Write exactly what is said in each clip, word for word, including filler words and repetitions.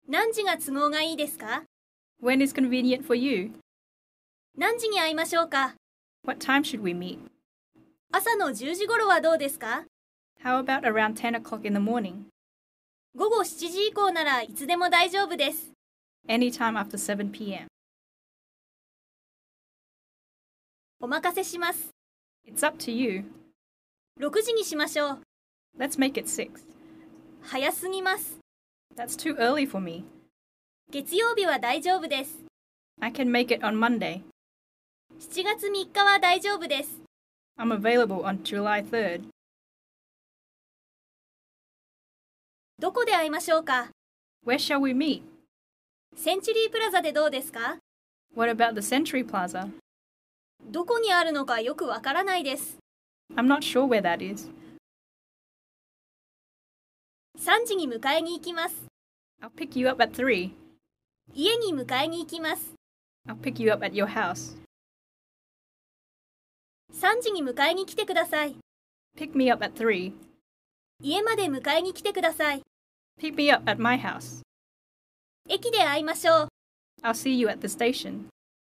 何時が都合がいいですか？ When is convenient for you? 何時に会いましょうか？ What time should we meet? 朝のじゅうじ頃はどうですか？ How about around ten o'clock in the morning? 午後しちじ以降ならいつでも大丈夫です。 Anytime after seven p.m. お任せします。 It's up to you. ろくじにしましょう。 Let's make it six. 早すぎます。 That's too early for me. 月曜日は大丈夫です。 I can make it on Monday. しちがつみっかは大丈夫です。 I'm available on July third. どこで会いましょうか？ Where shall we meet? センチュリープラザでどうですか？ What about the Century Plaza? どこにあるのかよくわからないです。 I'm not sure where that is. さんじに迎えに行きます。 I'll pick you up at three. 家に迎えに行きます。 I'll pick you up at your house. さんじに迎えに来てください。 Pick me up at three. 家まで迎えに来てください。 Pick me up at my house. 駅で会いましょう。 I'll see you at the station.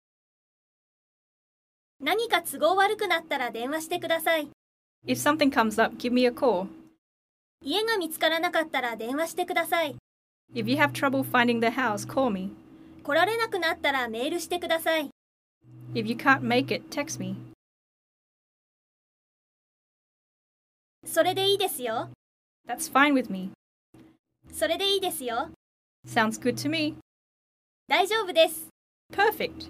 何か都合悪くなったら電話してください。 If something comes up, give me a call. 家が見つからなかったら電話してください。 If you have trouble finding the house, call me. 来られなくなったらメールしてください。 If you can't make it, text me. それでいいですよ。 That's fine with me. それでいいですよ。 Sounds good to me. 大丈夫です。 Perfect.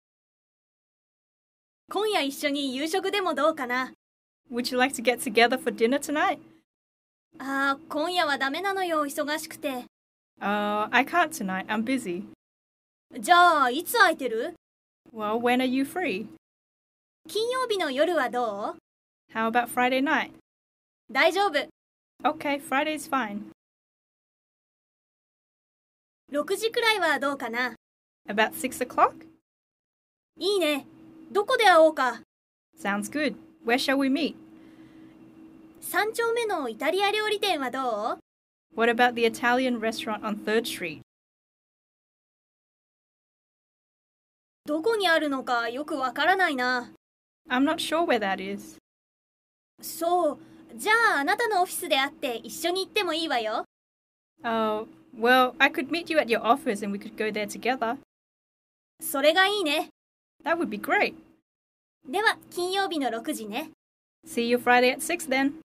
今夜一緒に夕食でもどうかな。 Would you like to get together for dinner tonight? ああ、今夜はダメなのよ、忙しくて。 Uh, I can't tonight. I'm busy. じゃあ、いつ空いてる？ Well, when are you free? 金曜日の夜はどう？ How about Friday night? 大丈夫。 Okay, Friday's fine. ろくじくらいはどうかな。 About six o'clock? いいね。どこで会おうか。 Sounds good. Where shall we meet? 三丁目のイタリア料理店はどう？ What about the Italian restaurant on third street? どこにあるのかよくわからないな。 I'm not sure where that is. そう。じゃああなたのオフィスで会って一緒に行ってもいいわよ。 Oh, well, I could meet you at your office and we could go there together. それがいいね。 That would be great. では金曜日のろくじね。 See you Friday at six then.